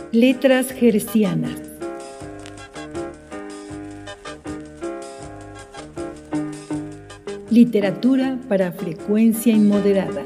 Letras Gercianas. Literatura para frecuencia inmoderada.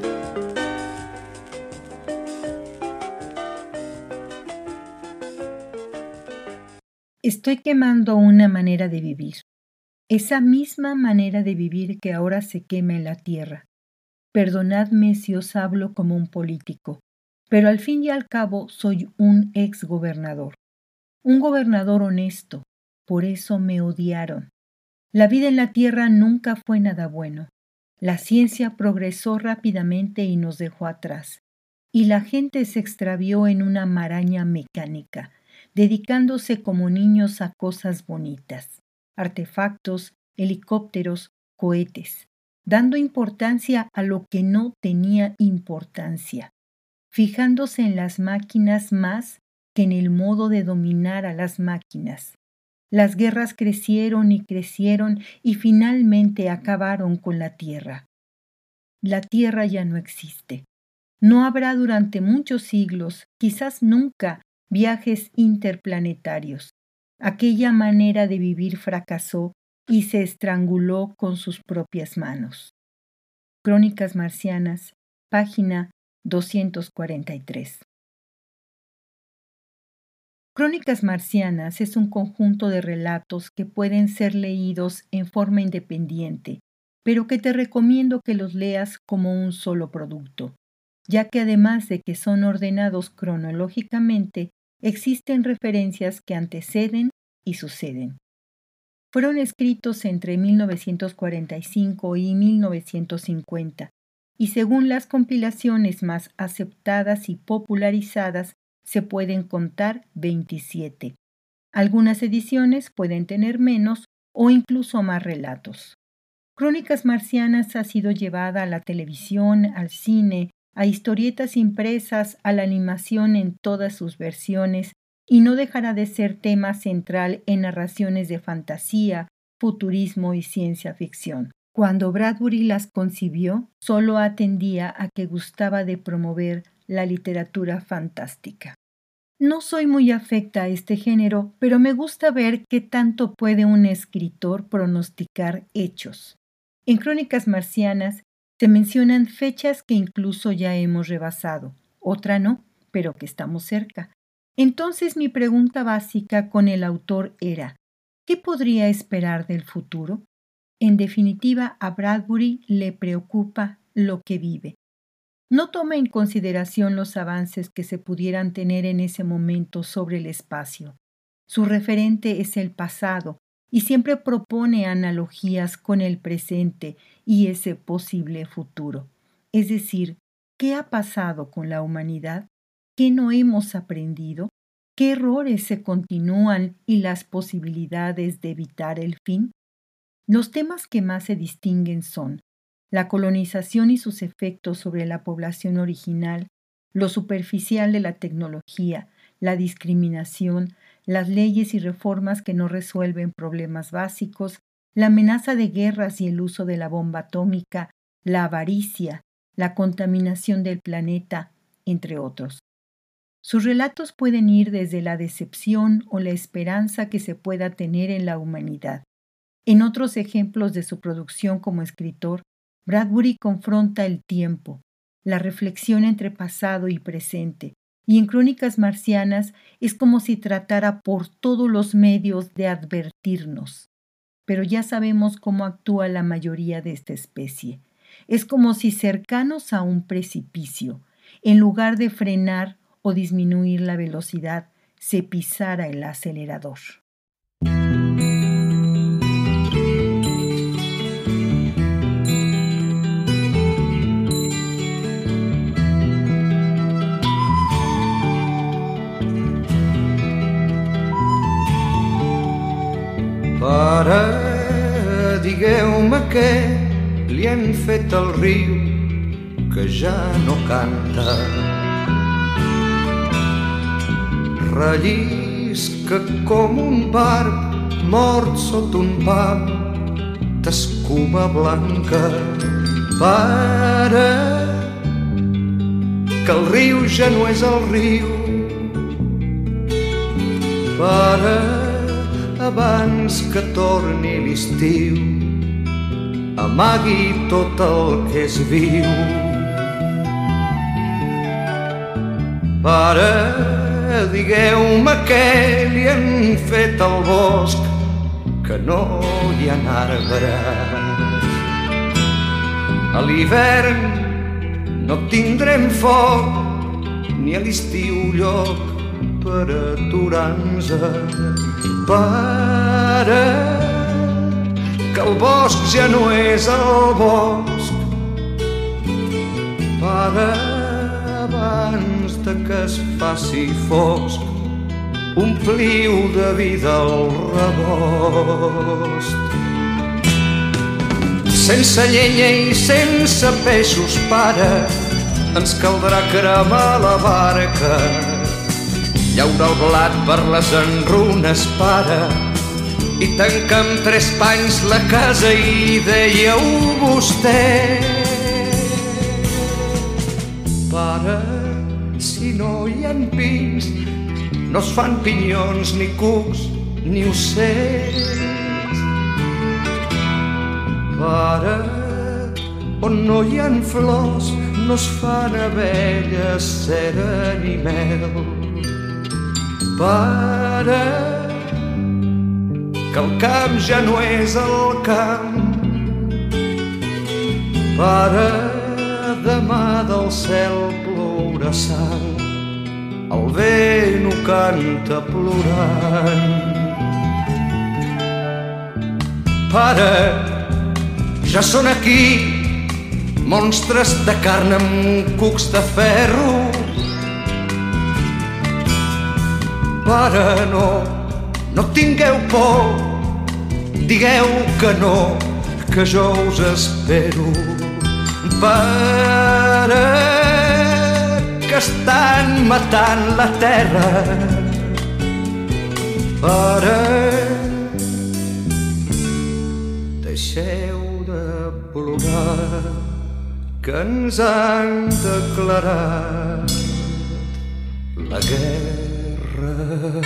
Estoy quemando una manera de vivir, esa misma manera de vivir que ahora se quema en la tierra. Perdonadme si os hablo como un político, pero al fin y al cabo soy un exgobernador. Un gobernador honesto, por eso me odiaron. La vida en la tierra nunca fue nada bueno. La ciencia progresó rápidamente y nos dejó atrás. Y la gente se extravió en una maraña mecánica, dedicándose como niños a cosas bonitas, artefactos, helicópteros, cohetes, dando importancia a lo que no tenía importancia, fijándose en las máquinas más que en el modo de dominar a las máquinas. Las guerras crecieron y finalmente acabaron con la Tierra. La Tierra ya no existe. No habrá durante muchos siglos, quizás nunca, viajes interplanetarios. Aquella manera de vivir fracasó y se estranguló con sus propias manos. Crónicas Marcianas, página 243. Crónicas Marcianas es un conjunto de relatos que pueden ser leídos en forma independiente, pero que te recomiendo que los leas como un solo producto, ya que además de que son ordenados cronológicamente, existen referencias que anteceden y suceden. Fueron escritos entre 1945 y 1950, y según las compilaciones más aceptadas y popularizadas, se pueden contar 27. Algunas ediciones pueden tener menos o incluso más relatos. Crónicas Marcianas ha sido llevada a la televisión, al cine, a historietas impresas, a la animación en todas sus versiones y no dejará de ser tema central en narraciones de fantasía, futurismo y ciencia ficción. Cuando Bradbury las concibió, solo atendía a que gustaba de promover la literatura fantástica. No soy muy afecta a este género, pero me gusta ver qué tanto puede un escritor pronosticar hechos. En Crónicas Marcianas se mencionan fechas que incluso ya hemos rebasado, otra no, pero que estamos cerca. Entonces mi pregunta básica con el autor era, ¿qué podría esperar del futuro? En definitiva, a Bradbury le preocupa lo que vive. No toma en consideración los avances que se pudieran tener en ese momento sobre el espacio. Su referente es el pasado y siempre propone analogías con el presente y ese posible futuro. Es decir, ¿qué ha pasado con la humanidad? ¿Qué no hemos aprendido? ¿Qué errores se continúan y las posibilidades de evitar el fin? Los temas que más se distinguen son la colonización y sus efectos sobre la población original, lo superficial de la tecnología, la discriminación, las leyes y reformas que no resuelven problemas básicos, la amenaza de guerras y el uso de la bomba atómica, la avaricia, la contaminación del planeta, entre otros. Sus relatos pueden ir desde la decepción o la esperanza que se pueda tener en la humanidad. En otros ejemplos de su producción como escritor, Bradbury confronta el tiempo, la reflexión entre pasado y presente, y en Crónicas Marcianas es como si tratara por todos los medios de advertirnos. Pero ya sabemos cómo actúa la mayoría de esta especie. Es como si cercanos a un precipicio, en lugar de frenar o disminuir la velocidad, se pisara el acelerador. Pare, digueu-me què li han fet al riu que ja no canta. Rellisca com un barb mort sota un pam d'escuma blanca. Pare, que el riu ja no és el riu Pare, abans que torni l'estiu, amagui tot el que és viu. Pare, digueu-me què li han fet al bosc, que no hi ha arbres. A l'hivern no tindrem foc, ni a l'estiu lloc per aturar-nos. Pare, que el bosc ja no és el bosc. Pare, abans de que es faci fosc, ompliu de vida el rebost. Sense llenya i sense peixos, pare, ens caldrà cremar la barca, llaurar el blat per les enrunes, pare, i tancar amb 3 panys la casa, i dèieu vostè. Pare, si no hi ha pins, no es fan pinyons, ni cucs, ni ocells. Pare, on no hi ha flors, no es fan abelles, cera ni mel. Pare, que el camp ja no és el camp. Pare, demà del cel plourà sang, el vent ho canta plorant. Pare, ja són aquí monstres de carn amb cucs de ferro. Pare, no tingueu por, digueu que no, que jo us espero. Pare, que estan matant la terra. Pare, deixeu de plorar, que ens han declarat la guerra.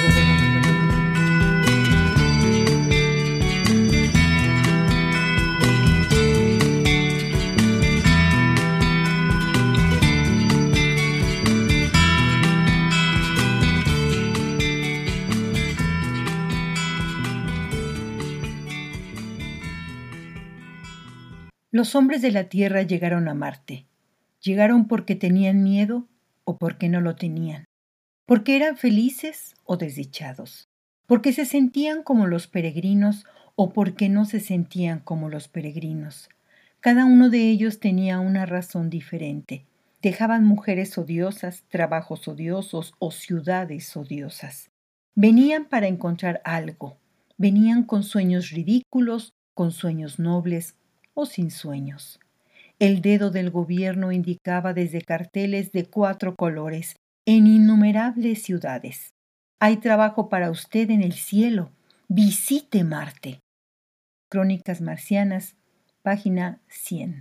Los hombres de la Tierra llegaron a Marte. Llegaron porque tenían miedo o porque no lo tenían. Porque eran felices o desdichados. Porque se sentían como los peregrinos o porque no se sentían como los peregrinos. Cada uno de ellos tenía una razón diferente. Dejaban mujeres odiosas, trabajos odiosos o ciudades odiosas. Venían para encontrar algo. Venían con sueños ridículos, con sueños nobles o sin sueños. El dedo del gobierno indicaba desde carteles de 4 colores en innumerables ciudades: hay trabajo para usted en el cielo, visite Marte. Crónicas Marcianas, página 100.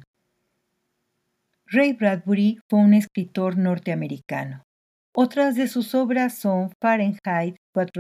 Ray Bradbury fue un escritor norteamericano. Otras de sus obras son Fahrenheit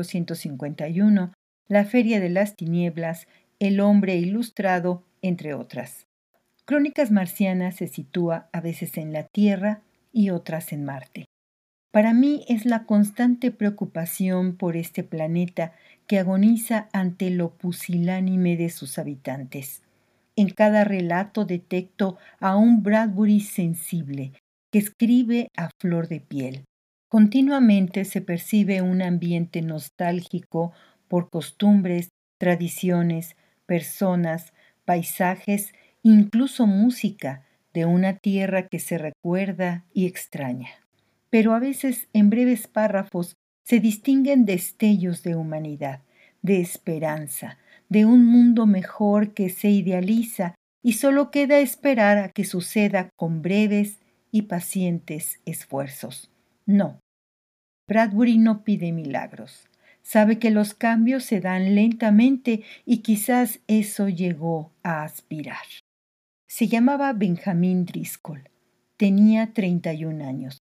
451, La Feria de las Tinieblas, El Hombre Ilustrado, entre otras. Crónicas Marcianas se sitúa a veces en la Tierra y otras en Marte. Para mí es la constante preocupación por este planeta que agoniza ante lo pusilánime de sus habitantes. En cada relato detecto a un Bradbury sensible que escribe a flor de piel. Continuamente se percibe un ambiente nostálgico por costumbres, tradiciones, personas, paisajes, incluso música de una tierra que se recuerda y extraña. Pero a veces en breves párrafos se distinguen destellos de humanidad, de esperanza, de un mundo mejor que se idealiza y solo queda esperar a que suceda con breves y pacientes esfuerzos. No, Bradbury no pide milagros. Sabe que los cambios se dan lentamente y quizás eso llegó a aspirar. Se llamaba Benjamin Driscoll. Tenía 31 años.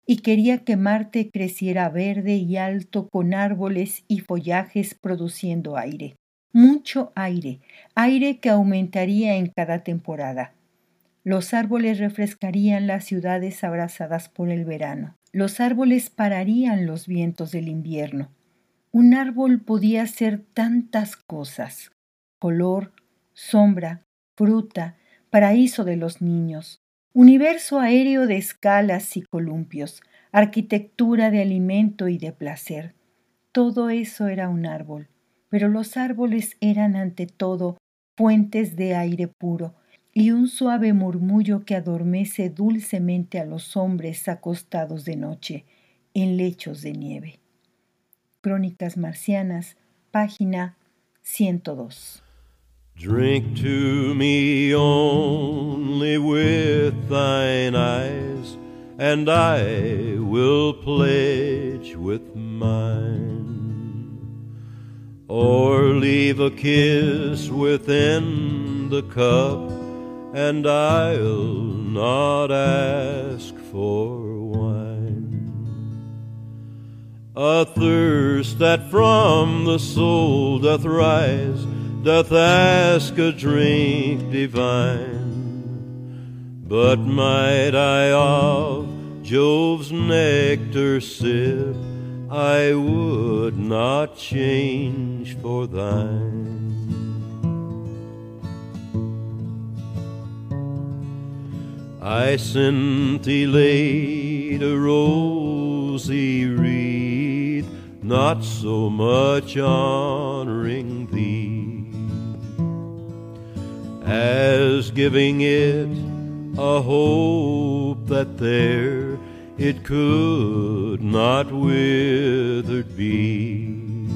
y quería que Marte creciera verde y alto con árboles y follajes produciendo aire. Mucho aire, aire que aumentaría en cada temporada. Los árboles refrescarían las ciudades abrasadas por el verano. Los árboles pararían los vientos del invierno. Un árbol podía ser tantas cosas: color, sombra, fruta, paraíso de los niños, universo aéreo de escalas y columpios, arquitectura de alimento y de placer. Todo eso era un árbol, pero los árboles eran ante todo fuentes de aire puro y un suave murmullo que adormece dulcemente a los hombres acostados de noche en lechos de nieve. Crónicas Marcianas, página 102. Drink to me only with thine eyes, and I will pledge with mine. Or leave a kiss within the cup, and I'll not ask for wine. A thirst that from the soul doth rise, doth ask a drink divine. But might I of Jove's nectar sip, I would not change for thine. I scintillate a rosy wreath, not so much honoring thee as giving it a hope that there it could not withered be.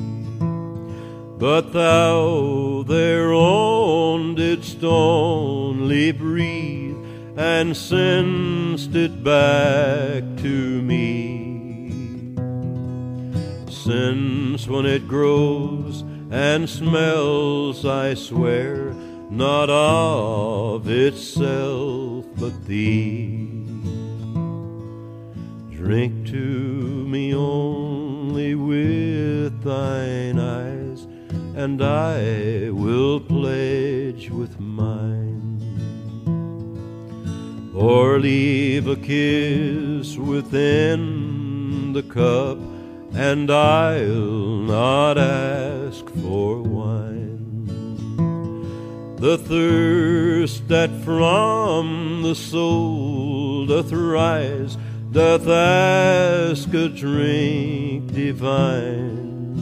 But thou thereon didst only breathe, and send'st it back to me. Since when it grows and smells, I swear, not of itself but thee. Drink to me only with thine eyes, and I will pledge with mine. Or leave a kiss within the cup, and I'll not ask for wine. The thirst that from the soul doth rise, doth ask a drink divine.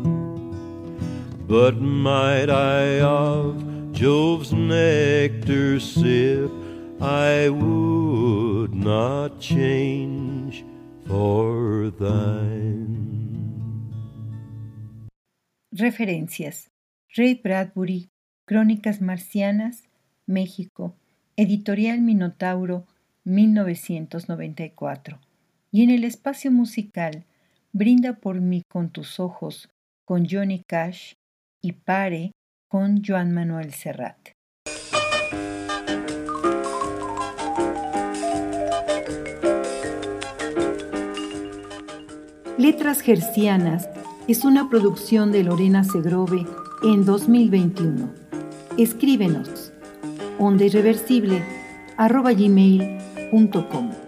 But might I of Jove's nectar sip, I would not change for thine. Referencias: Ray Bradbury, Crónicas Marcianas, México, Editorial Minotauro, 1994. Y en el espacio musical, Brinda por mí con tus ojos, con Johnny Cash, y Pare, con Joan Manuel Serrat. Letras Gercianas es una producción de Lorena Segrove en 2021. Escríbenos ondairreversible@gmail.com.